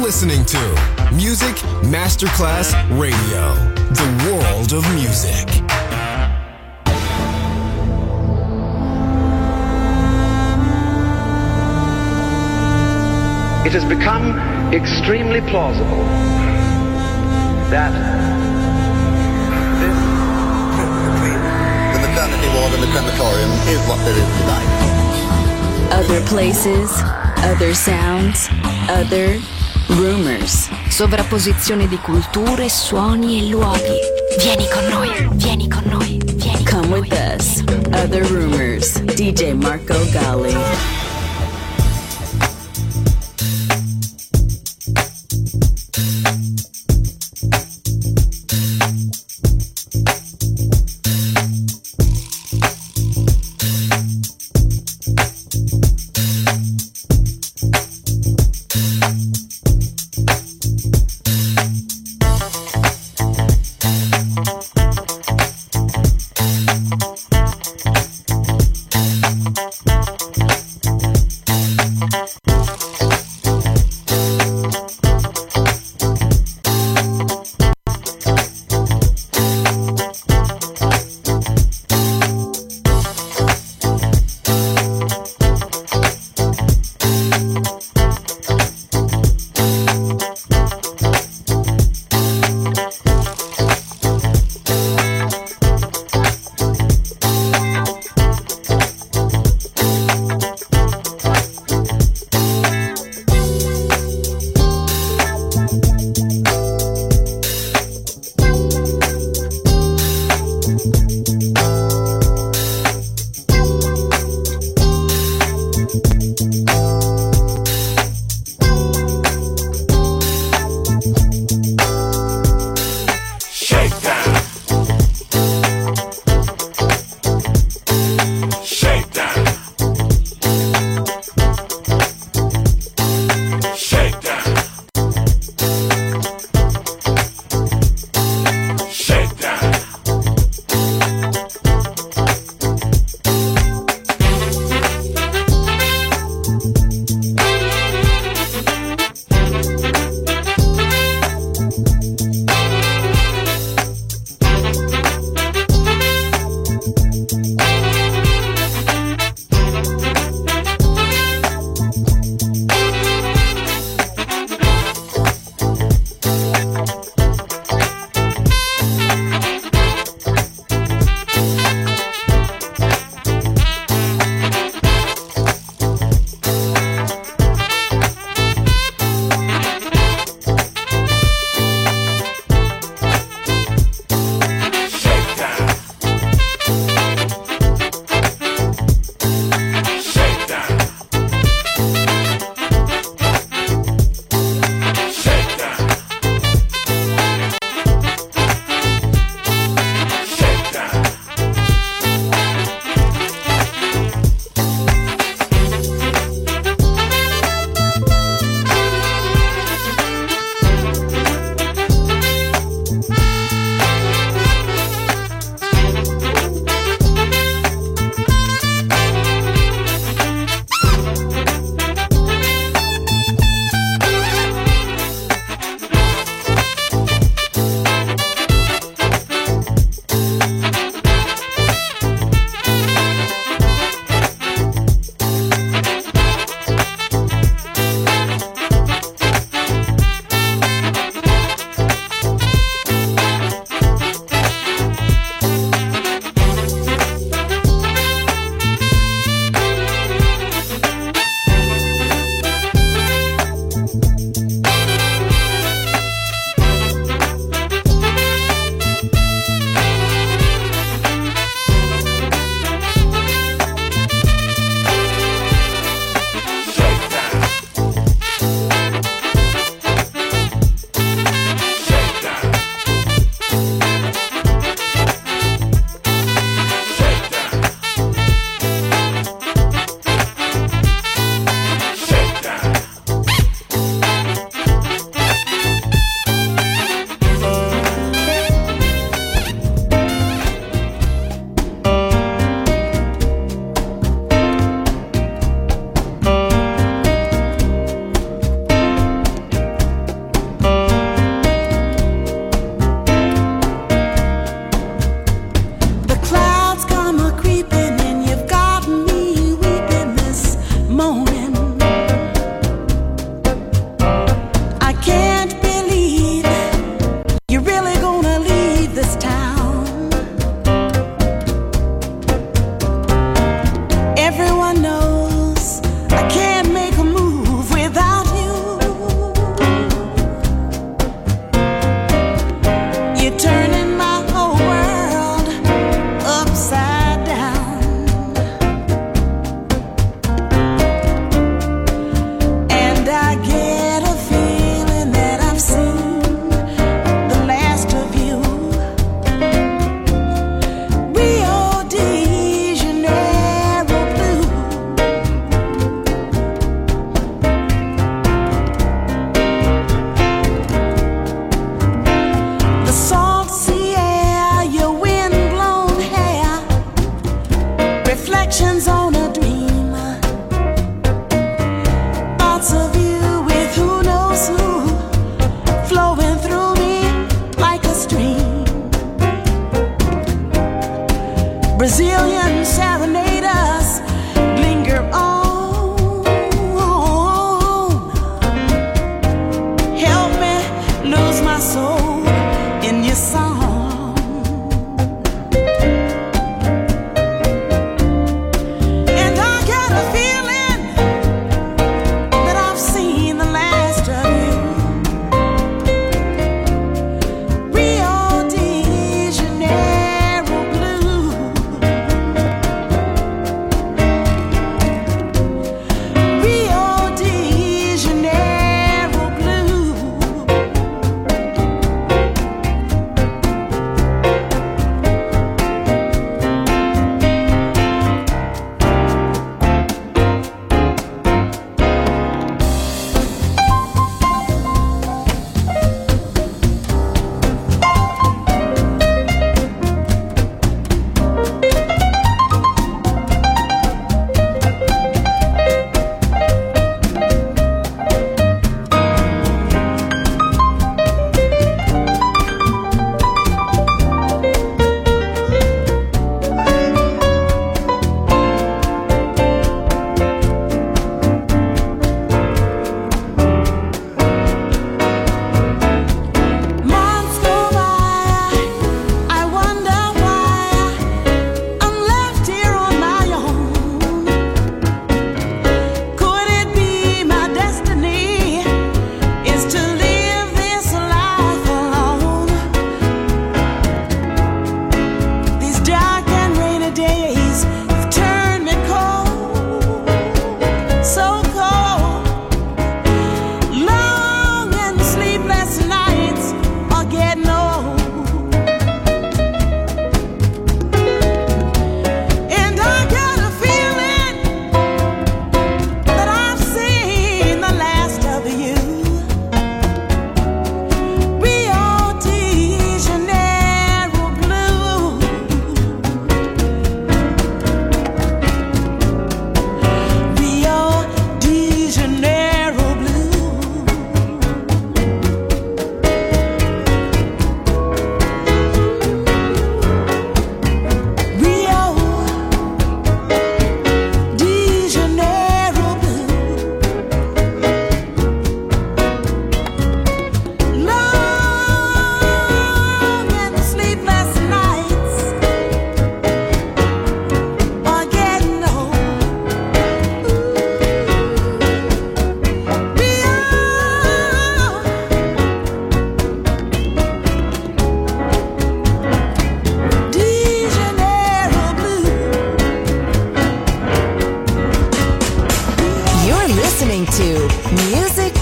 listening to Music Masterclass Radio, the world of music. It has become extremely plausible that the maternity ward and the crematorium is what there is tonight. Other places, other sounds, other rumors. Sovrapposizione di culture, suoni e luoghi. Vieni con noi, vieni con noi, vieni con noi. Come with us. Other rumors. DJ Marco Gally.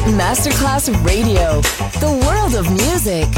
Masterclass Radio, the world of music.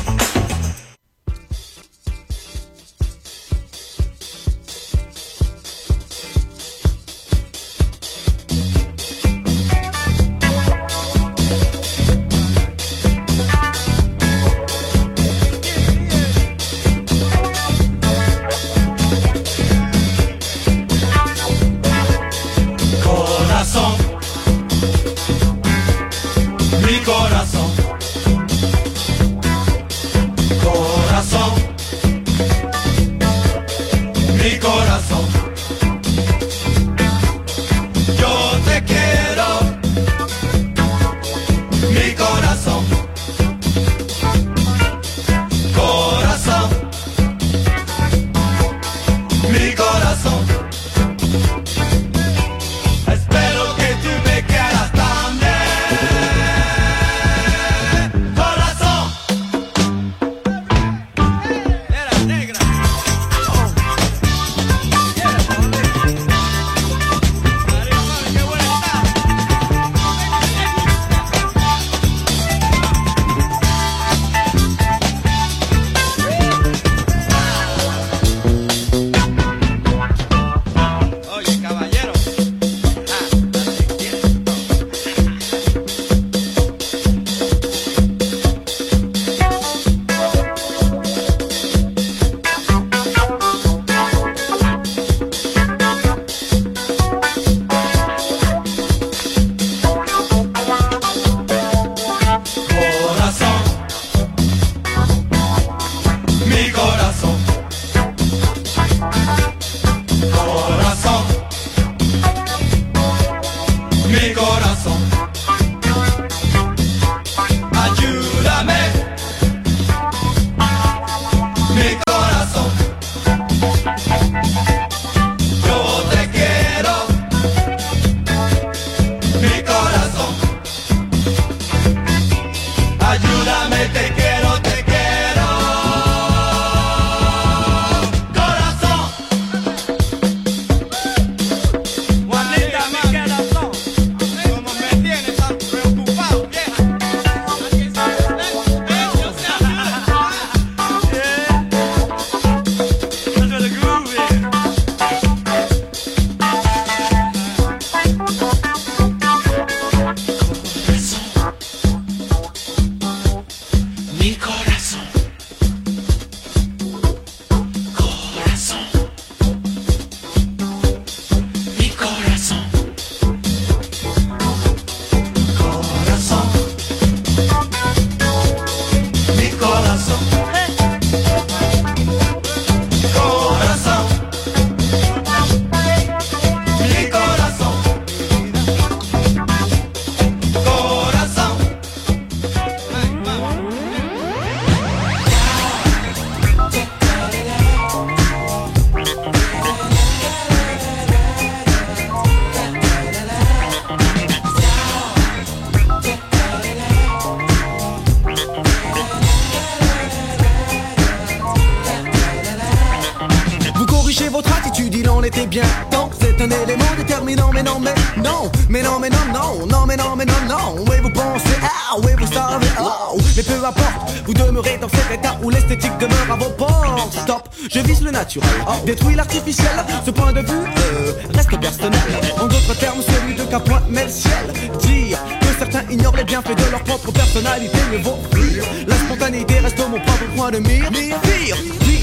était bien. Donc c'est un élément déterminant. Mais non, mais non, mais non, mais non, non, non, mais non, mais non, non. Oui, vous pensez, ah, oui, vous savez, oh. Mais peu importe, vous demeurez dans cet état où l'esthétique demeure à vos portes. Stop, je vise le naturel, détruis l'artificiel. Ce point de vue reste personnel. En d'autres termes, celui de qu'un point met le ciel. Dire que certains ignorent les bienfaits de leur propre personnalité, mieux vaut fuir. La spontanéité reste mon propre point de mire. Pire,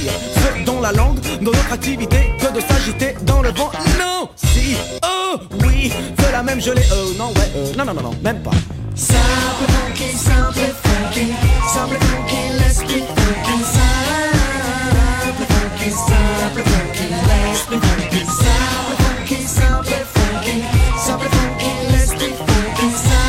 ce dont la langue, dans notre activité, que de s'agiter dans le vent. Non, si, oh, oui, cela même je l'ai, non, ouais, non, non, non, non, même pas. Simple funky, simple funky, simple funky, let's be funky. Simple funky, simple funky, let's be funky. Simple funky, simple funky, simple funky, let's be funky.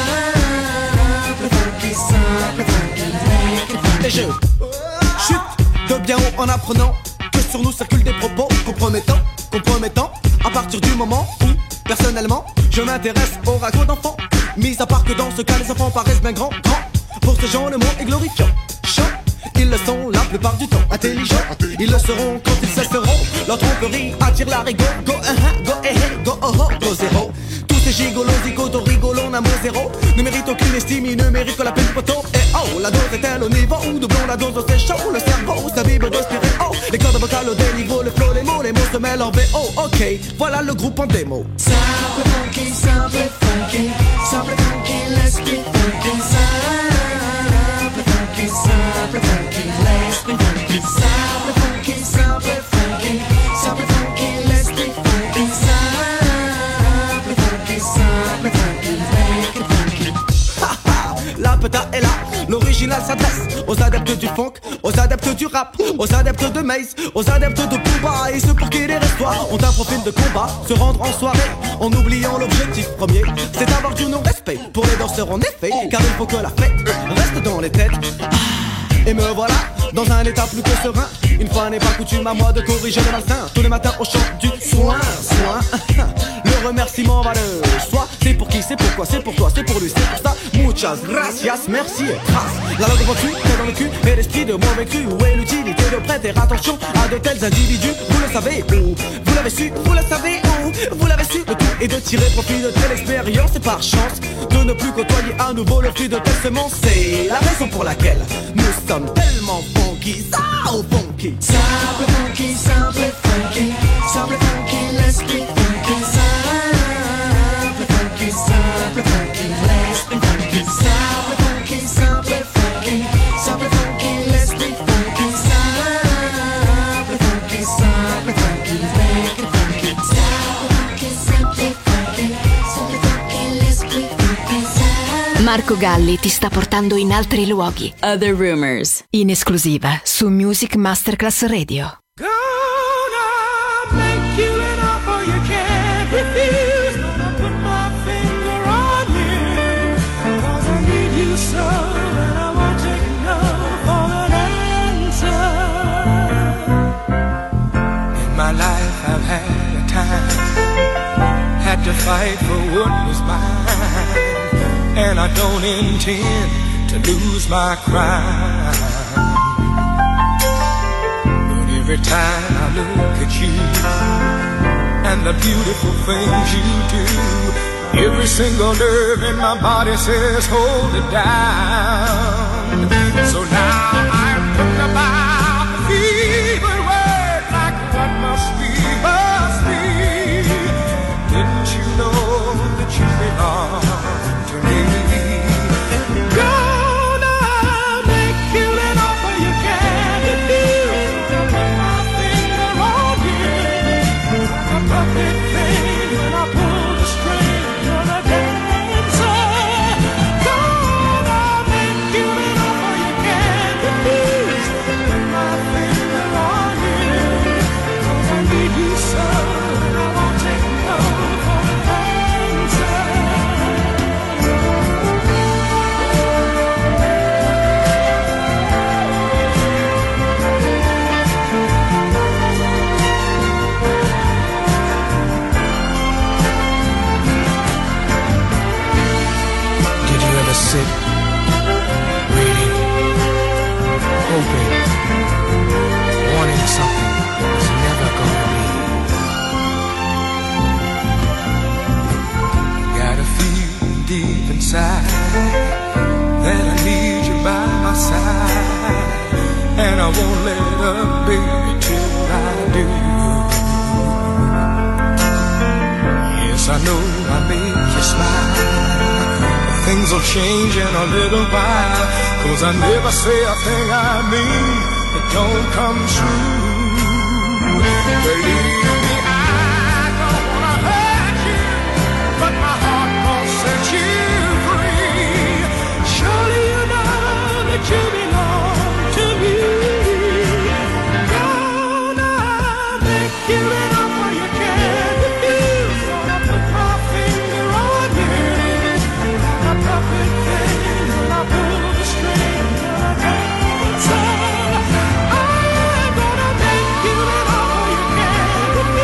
Simple funky, simple funky, make it funky. Et je chute de bien haut en apprenant que sur nous circulent des propos compromettants, à partir du moment où, personnellement, je m'intéresse au ragot d'enfants. Mis à part que dans ce cas les enfants paraissent bien grands. Pour ces gens le mot est glorifiant. Chant Ils le sont la plupart du temps intelligents. Ils le seront quand ils cesseront. Leur tromperie attire la rigole. Go, go, go, oh, oh, go, zéro. Tous ces gigolos, zigotos, rigolos, n'amour zéro ne méritent aucune estime, ils ne méritent que la peine du poteau. Et oh, la dose est-elle au niveau où doublons la dose, c'est chaud. Le cerveau, sa vibre de stéréo. Les cordes vocales au déniveau, le flow, les mots se mêlent en VO. Ok, voilà le groupe en démo. Simple funky, simple funky, simple funky, let's be funky. Simple funky, simple funky, let's be funky. Simple funky, simple funky, simple funky, let's be funky. Simple funky, simple funky, make it funky. La peta est là, l'original s'adresse aux adeptes du funk, aux adeptes du rap, aux adeptes de Maze, aux adeptes de Booba et ceux pour qui les restoirs ont un profil de combat. Se rendre en soirée en oubliant l'objectif premier, c'est avoir du non-respect pour les danseurs en effet, car il faut que la fête reste dans les têtes. Et me voilà dans un état plus que serein. Une fois n'est pas coutume à moi de corriger le malsain. Tous les matins au chant du soin. Le remerciement va de soi. C'est pour qui, c'est pourquoi, c'est pour toi, c'est pour lui, c'est pour ça. Muchas gracias, merci et grâce. La langue au cul, tête dans le cul, et l'esprit de mauvais cru. Où est l'utilité de prêter attention à de tels individus? Vous le savez où? Vous l'avez su, vous le savez où? Vous l'avez su, le tout est de tirer profit de telle expérience. Et par chance de ne plus côtoyer à nouveau le fruit de telle semence. C'est la raison pour laquelle nous sommes tellement funky, so funky. Simple funky, simple funky, simple funky, let's be funky. Simple funky, simple funky, let's be funky. Simple funky, simple funky, simple funky, let's be funky. Simple funky, simple funky, make it funky. Simple funky, simple funky, simple funky, let's be funky. Marco Galli ti sta portando in altri luoghi. Other Rumors, in esclusiva su Music Masterclass Radio. Gonna make you an offer you can't refuse. Gonna put my finger on you, 'cause I need you so, and I won't take no for an answer. In my life I've had a time, had to fight for what was mine, and I don't intend to lose my crown. But every time I look at you and the beautiful things you do, every single nerve in my body says hold it down. So now I'm putting about the fever word like what must be, must be. Didn't you know that you belong to me? Gonna make you an offer you can't refuse. Put my finger on you, a puppet thing when I pull the string. Gonna dancer. Gonna make you an offer you can't refuse. Put my finger on you, 'cause I need you so, and I won't take no for an answer. Did you ever sit waiting, hoping, wanting something that was never gonna be? Gotta feel deep inside that I need you by my side, and I won't let up, baby, till I do. Yes, I know I make you smile. Things will change in a little while, 'cause I never say a thing I mean that don't come true. Believe me, I don't wanna hurt you, but my heart won't set you free. Surely you know that you belong to me. Gonna make you an offer you can't refuse. Gonna put my finger on you, a puppet thing when I pull the string. Gonna dancer. I'm gonna make you an offer you can't refuse.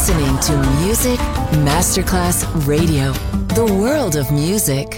listening to Music Masterclass Radio, the world of music.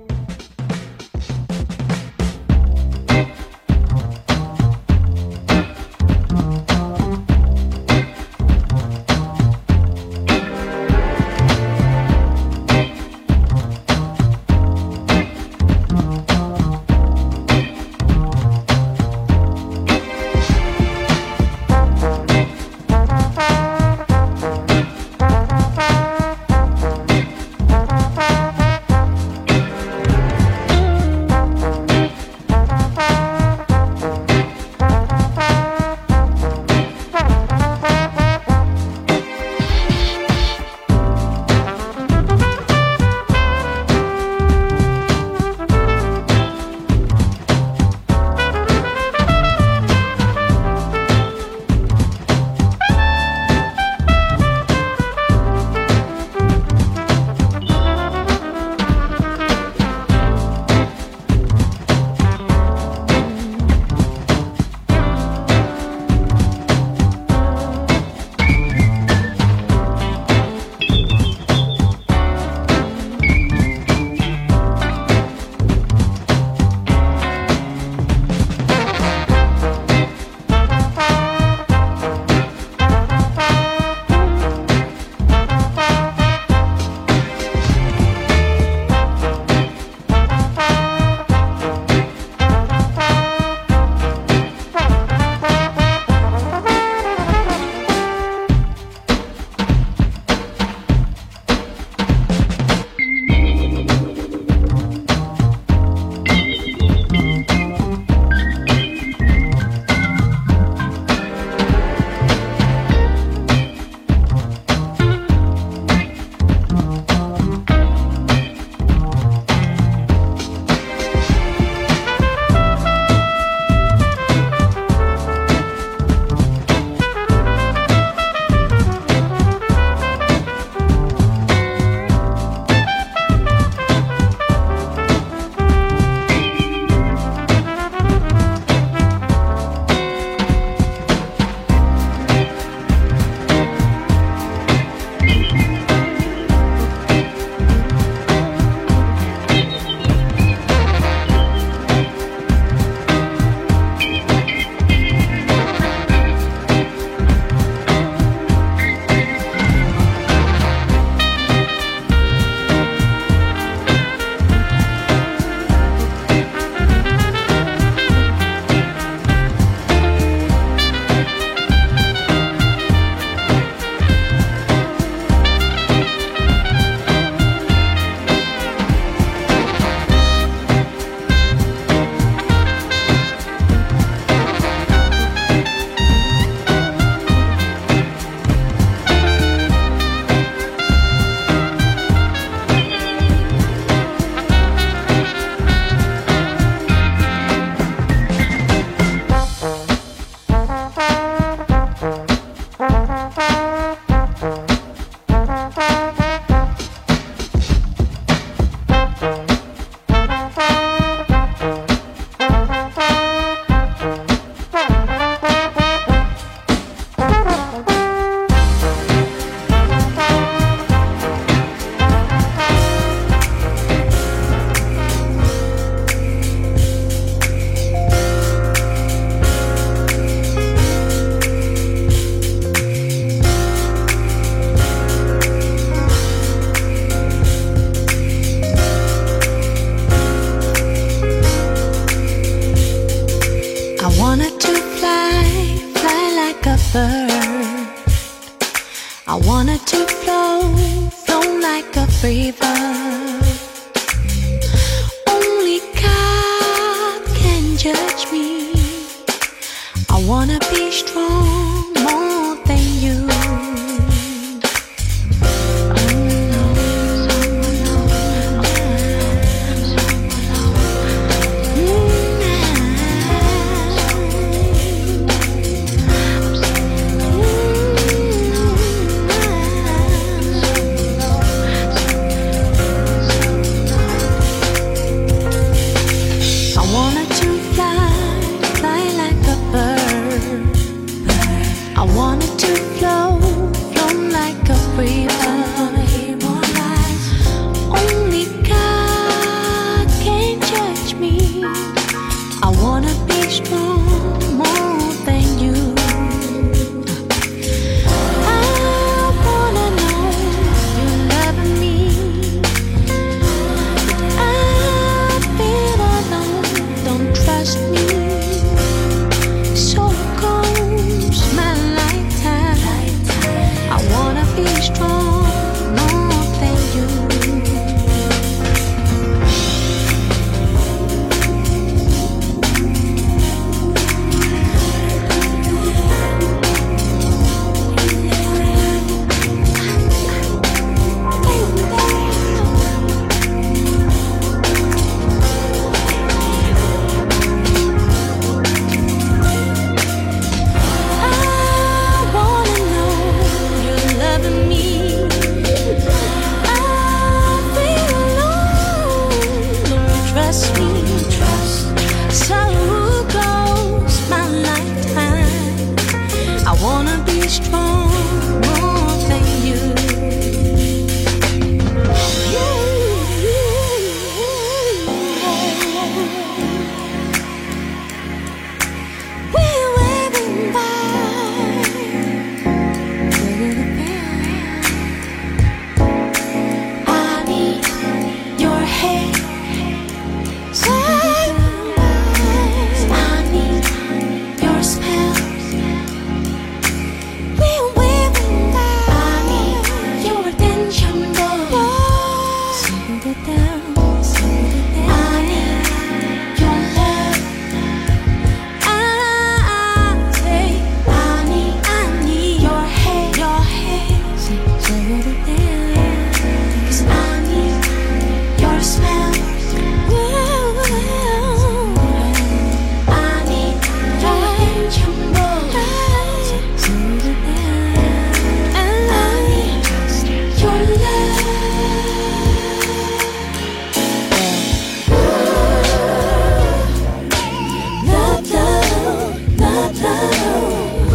I wanted to flow like a free bird. Only God can judge me. I wanna be strong more than you. I wanted to flow be strong more than you. We're waving by. I need your hand. I need your spell. We're waving by. I need your attention, boy. Slow it down, slow it down. I need your love. I say I need your hand, your hand. Slow it down, 'cause I need your smell. I need your attention, boy. Slow it down. I need your love. Love, love, love, love.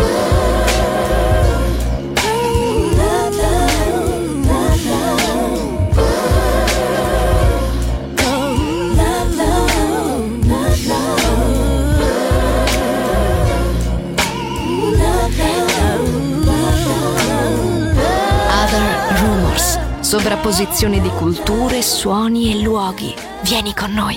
Love, love, love, love. Other Rumors, sovrapposizione di culture, suoni e luoghi. Vieni con noi.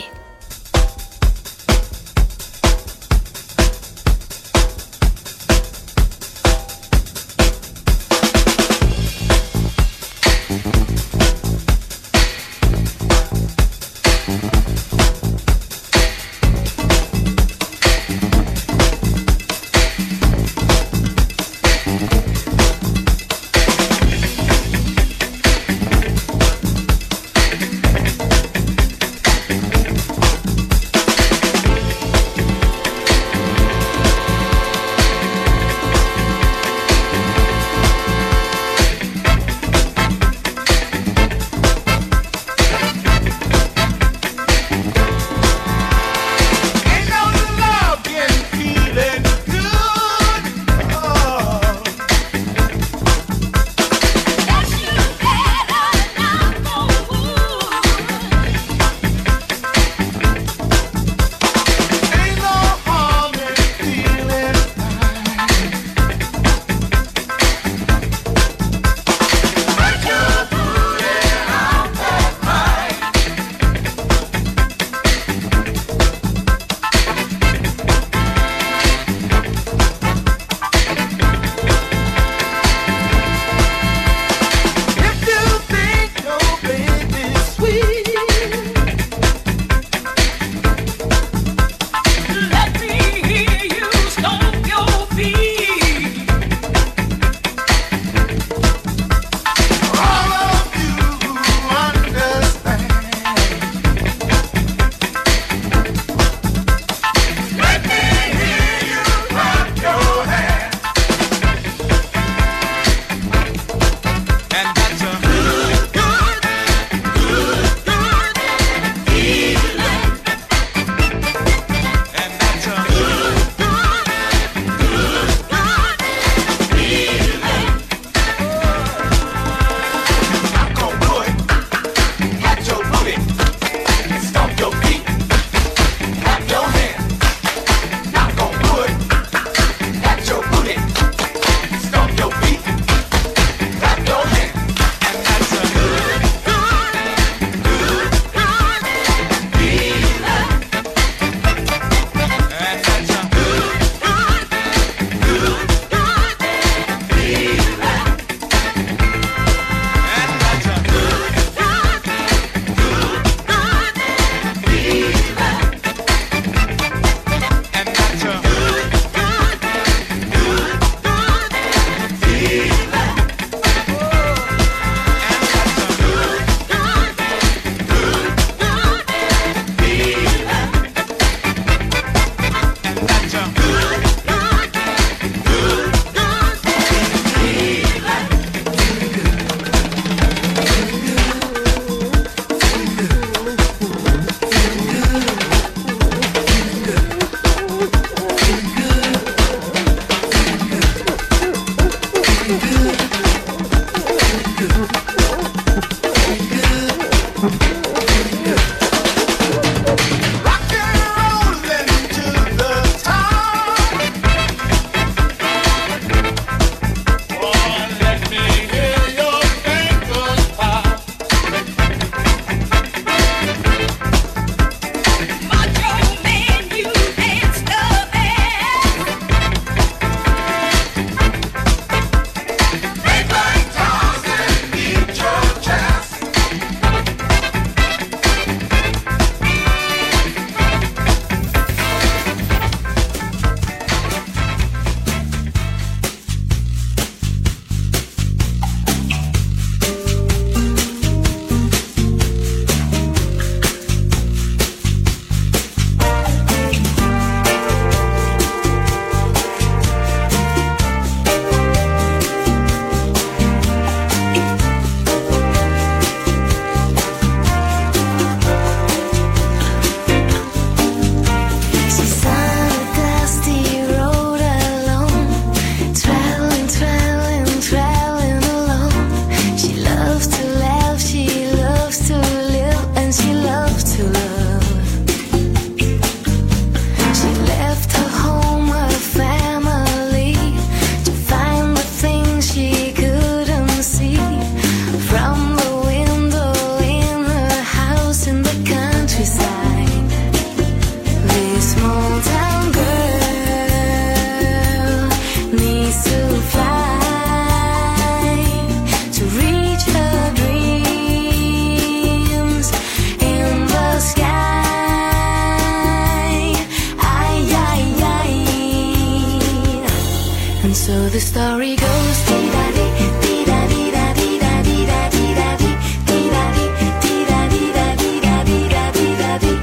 And so the story goes, dee-da-dee, dee-da-dee-da-dee-da-dee-da-dee-da-dee, dee-da-dee, dee-da-dee-da-dee-da-dee-da-dee-da-dee,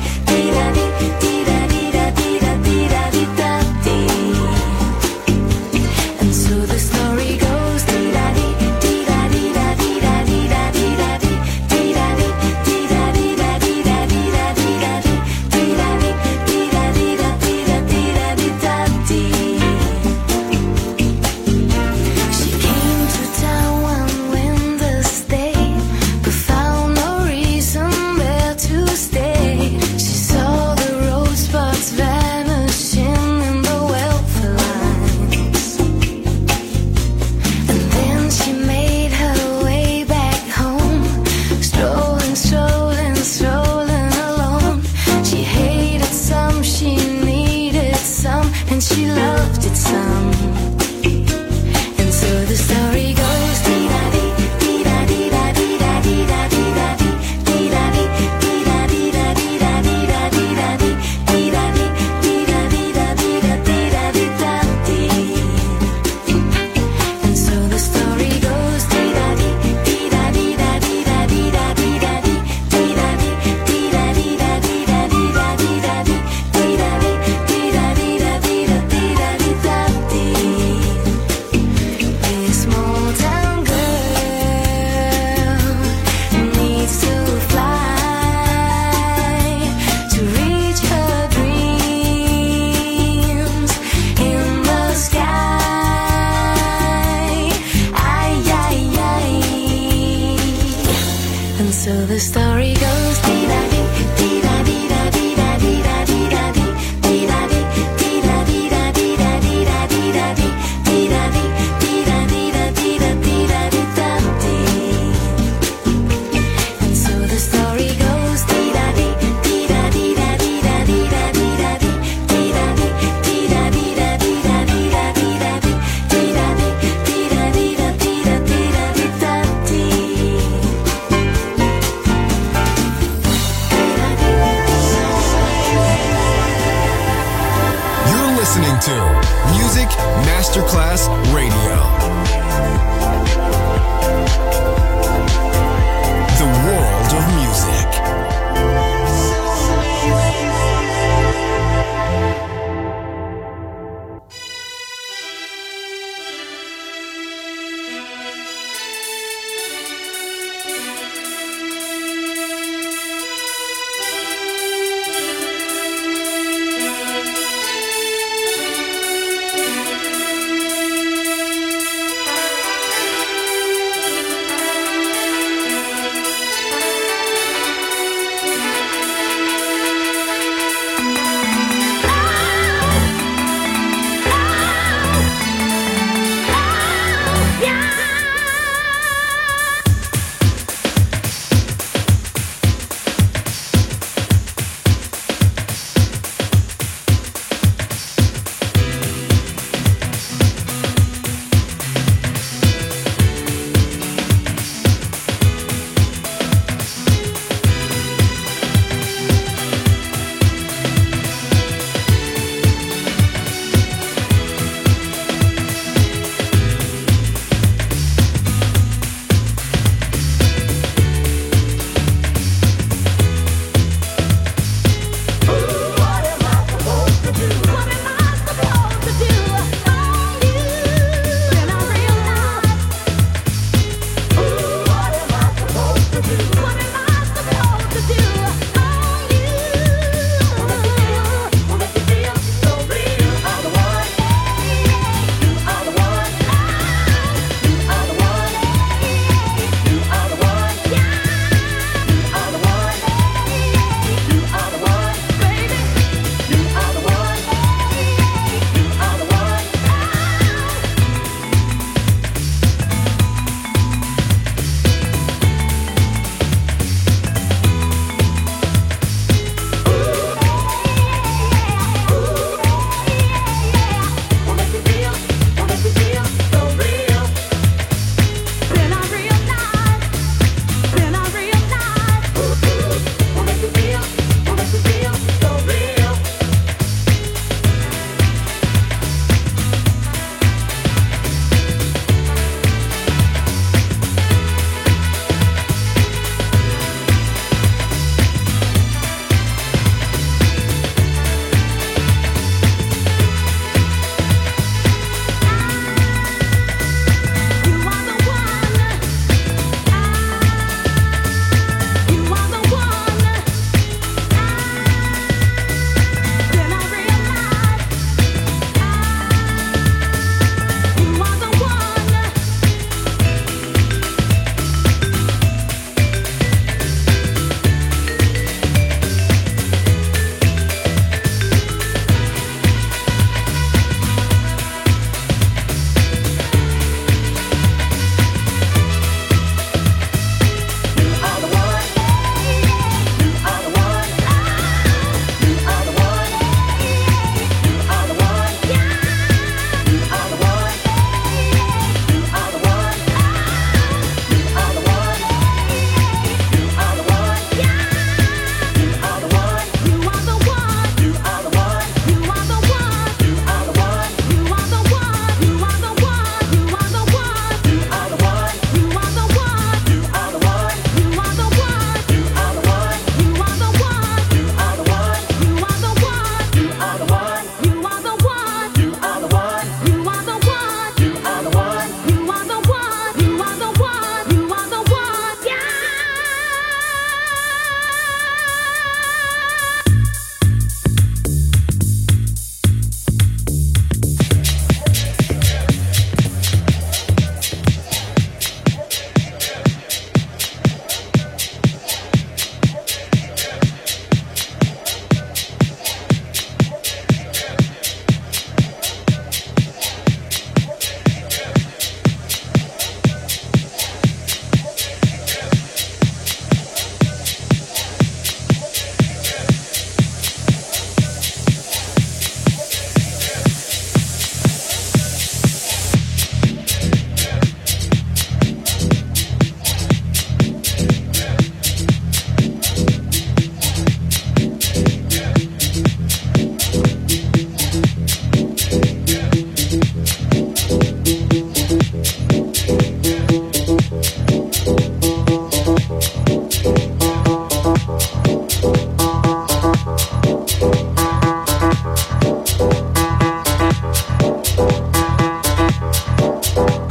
dee-da-dee, dee-da-dee-da-dee-da-dee-da-dee. And so the story goes, dee-da-dee, dee-da-dee-da-dee-da-dee-da-dee-da-dee, dee-da-dee, dee-da-dee-da-dee-da-dee-da-dee, dee-da-dee, dee-da-dee-da-dee-da-dee-da-dee. She came to town one winter's day, but found no reason there to stay. She saw the rosebuds vanishing in the welfare lines, and then she made her way back home, strolling, strolling, strolling alone. She hated some, she needed some, and she loved it some. And so the story goes, dee-da-dee, dee-da-dee-da-dee-da-dee-da-dee-da-dee, dee-da-dee, dee-da-dee-da-dee-da-dee-da-dee, dee-da-dee, dee-da-dee-da-dee-da-dee-da-dee. And so the story goes, dee-da-dee, dee-da-dee-da-dee-da-dee-da-dee-da-dee, dee-da-dee, dee-da-dee-da-dee-da-dee-da-dee, dee-da-dee, dee-da-dee-da-dee-da-dee-da-dee. This small town girl needs to fly to reach her dreams in the sky. Ay, ay, ay. And so the story goes, dee-da-dee, dee-da-dee-da-dee-da-dee-da-dee-da-dee, dee-da-dee, dee-da-dee-da-dee-da-dee-da-dee, dee-da-dee, dee-da-dee-da-dee-da-dee-da-dee. And so the story goes, dee-da-dee, dee-da-dee-da-dee-da-dee-da-dee-da-dee, dee-da-dee, dee-da-dee-da-dee-da-dee-da-dee, dee-da-dee, dee-da-dee-da-dee-da-dee. You're listening to Music Masterclass Radio. The world of music.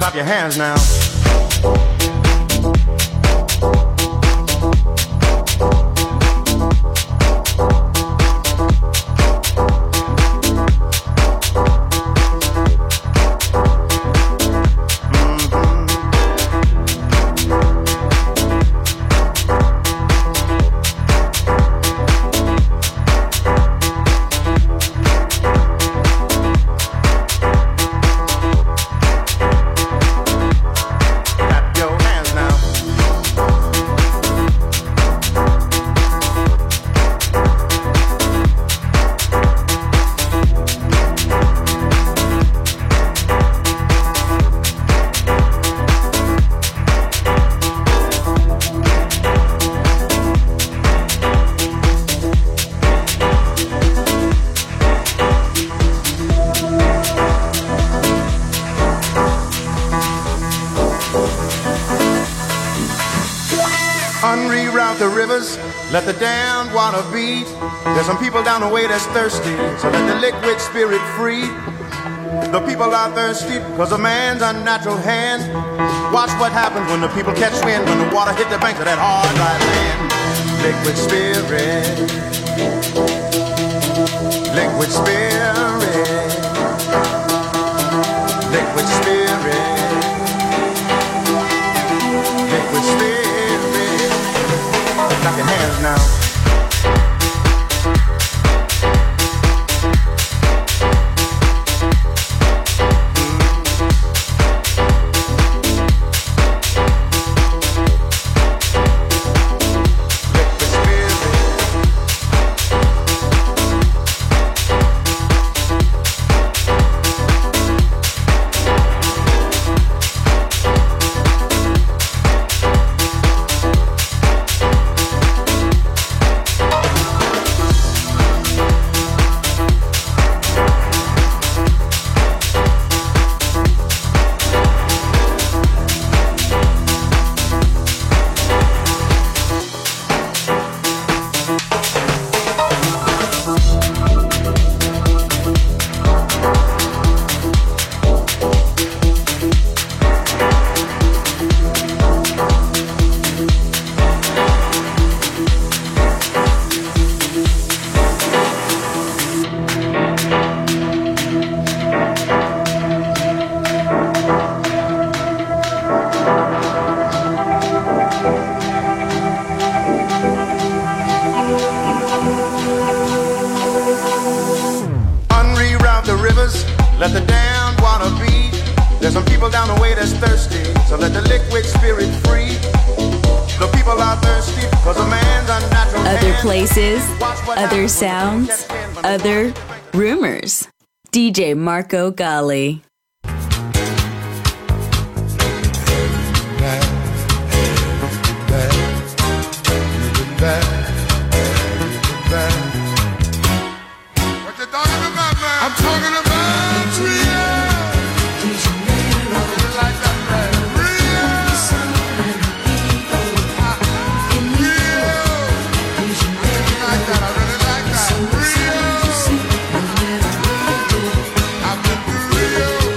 Clap your hands now. Let the damned water beat. There's some people down the way that's thirsty, so let the liquid spirit free. The people are thirsty because of man's unnatural hand. Watch what happens when the people catch wind, when the water hit the banks of that hard, dry land. Liquid spirit, liquid spirit, liquid spirit, liquid spirit. Clap your hands now. Let the damned water beat. There's some people down the way that's thirsty, so let the liquid spirit free. The people are thirsty because a man's unnatural. Other places, other sounds, other rumors. DJ Marco Gally. I'm talking about Rio. Like that, right? Rio. Like that, I really like that. Rio. I've been to Rio.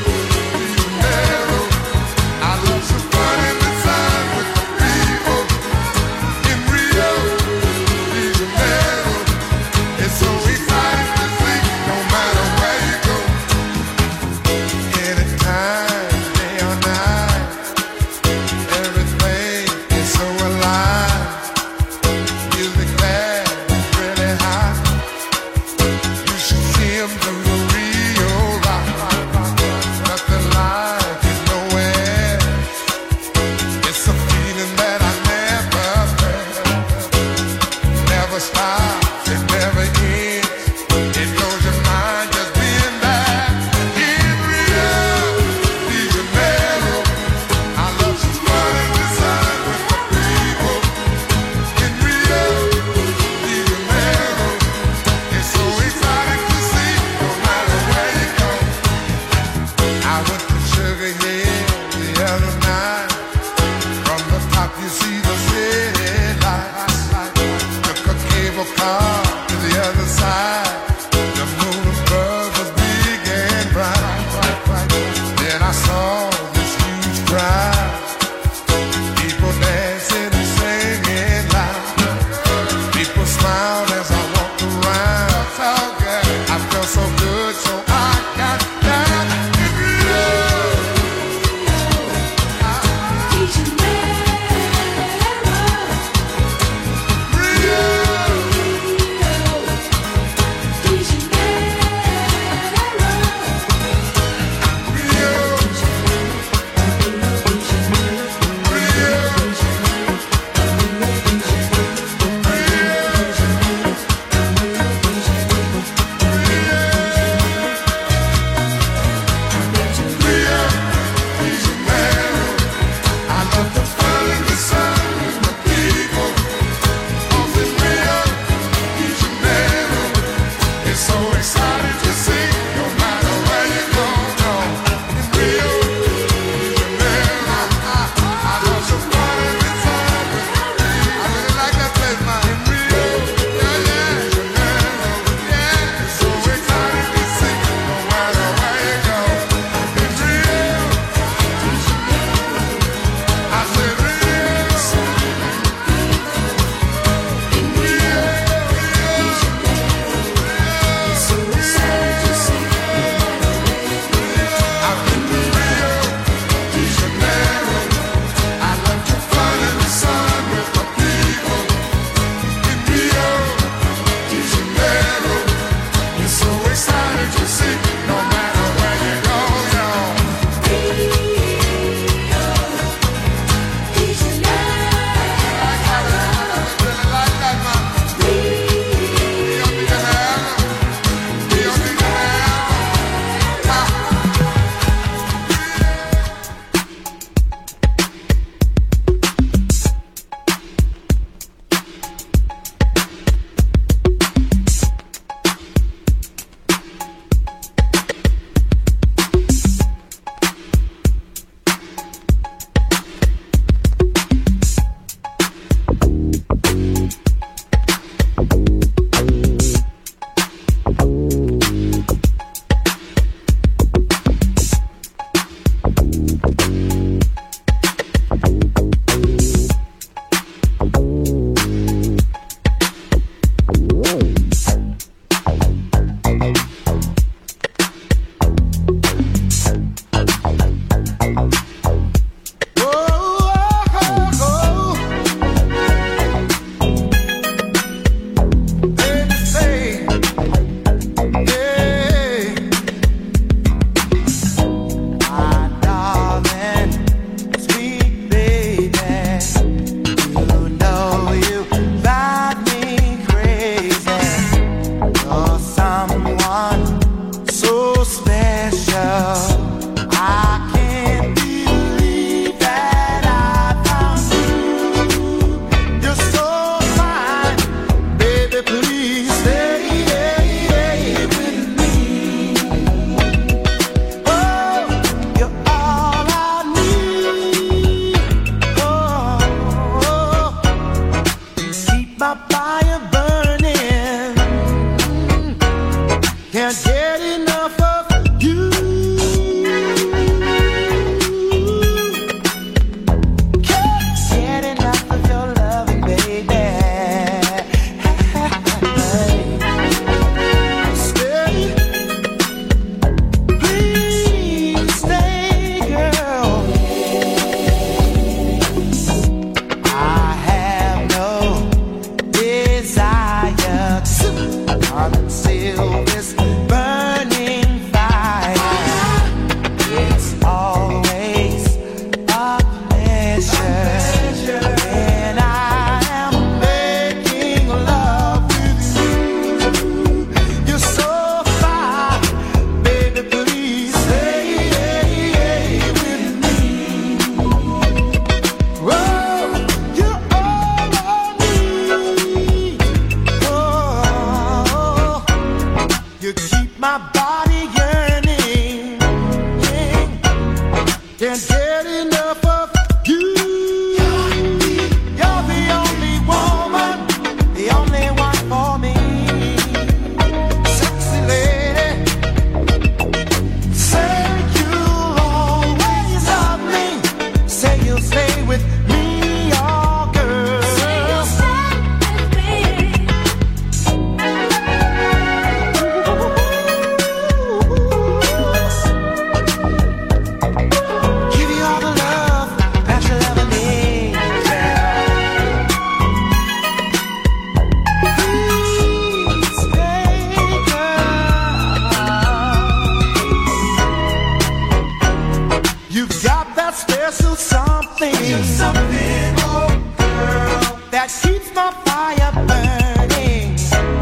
You've got that special something, oh girl, that keeps my fire burning.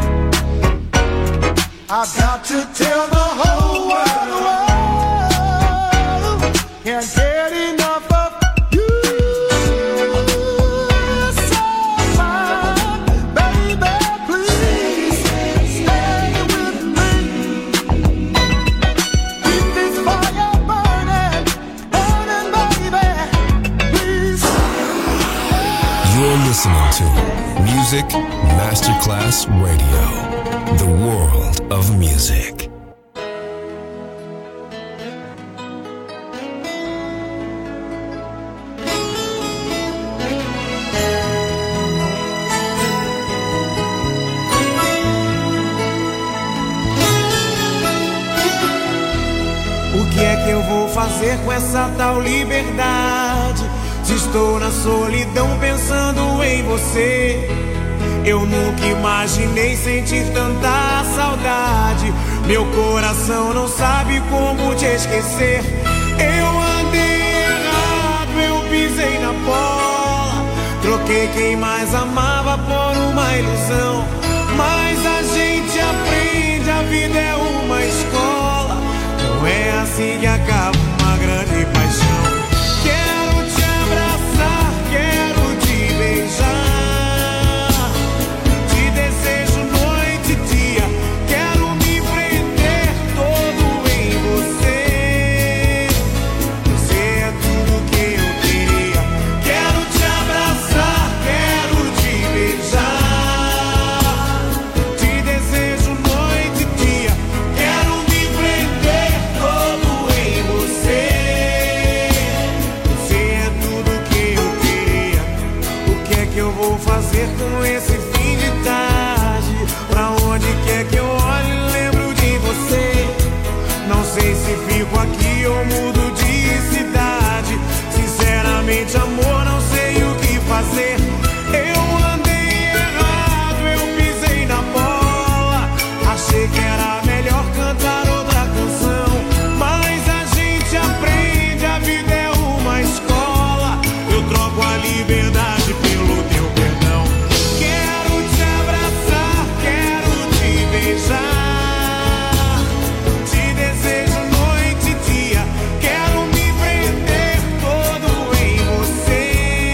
I've got to tell the whole world, can't get enough of you. So fine, baby, please stay with me. Keep this fire burning, burning, baby, please. You're listening to Music Masterclass Radio, the world of music. O que é que eu vou fazer com essa tal liberdade? Se estou na solidão pensando em você. Eu nunca imaginei sentir tanta saudade. Meu coração não sabe como te esquecer. Eu andei errado, eu pisei na bola. Troquei quem mais amava por uma ilusão. Mas a gente aprende, a vida é uma escola. Não é assim que acaba uma grande paixão. Quero te abraçar, quero te beijar. Te desejo noite e dia. Quero me prender todo em você. Você é tudo que eu queria. Quero te abraçar, quero te beijar. Te desejo noite e dia. Quero me prender todo em você. Você é tudo que eu queria. O que é que eu vou fazer com esse fim de tarde? Pra onde quer que eu olhe, lembro de você. Não sei se fico aqui ou mudo de cidade. Sinceramente, amor, não sei o que fazer. Eu andei errado, eu pisei na bola. Achei que era melhor cantar outra canção. Mas a gente aprende, a vida é uma escola. Eu troco a liberdade pelo teu perdão. Quero te abraçar, quero te beijar. Te desejo noite e dia. Quero me prender todo em você.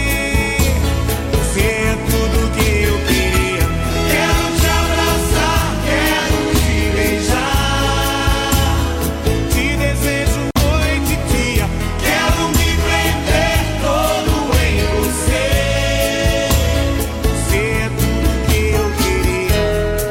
Você é tudo que eu queria. Quero te abraçar, quero te beijar. Te desejo noite e dia. Quero me prender todo em você. Você é tudo que eu queria.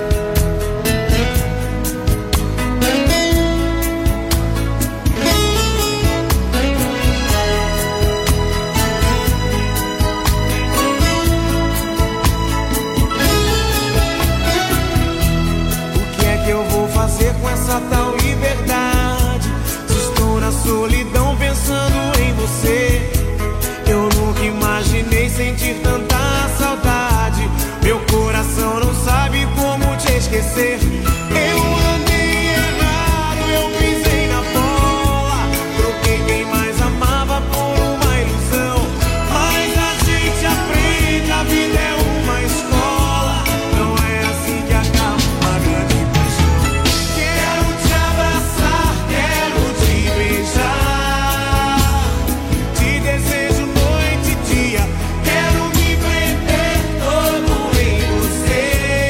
O que é que eu vou fazer com essa tal liberdade? Se estou na solidão pensando em você. Eu nunca imaginei sentir tanta saudade. Meu coração não sabe como te esquecer. Eu andei errado, eu pisei na bola. Troquei quem mais amava por uma ilusão. Mas a gente aprende, a vida é uma escola. Não é assim que acaba uma grande paixão. Quero te abraçar, quero te beijar. Te desejo noite e dia. Quero me prender todo em você.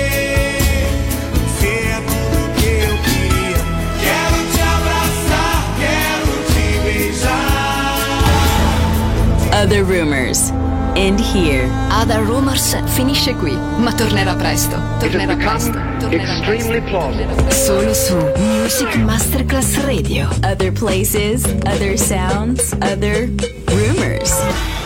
Você é tudo que eu queria. Quero te abraçar, quero te beijar. Other Rumors. End here. Other Rumors finisce qui, ma tornerà presto. It has become extremely plausible. Solo su Music Masterclass Radio. Other places, other sounds, other rumors.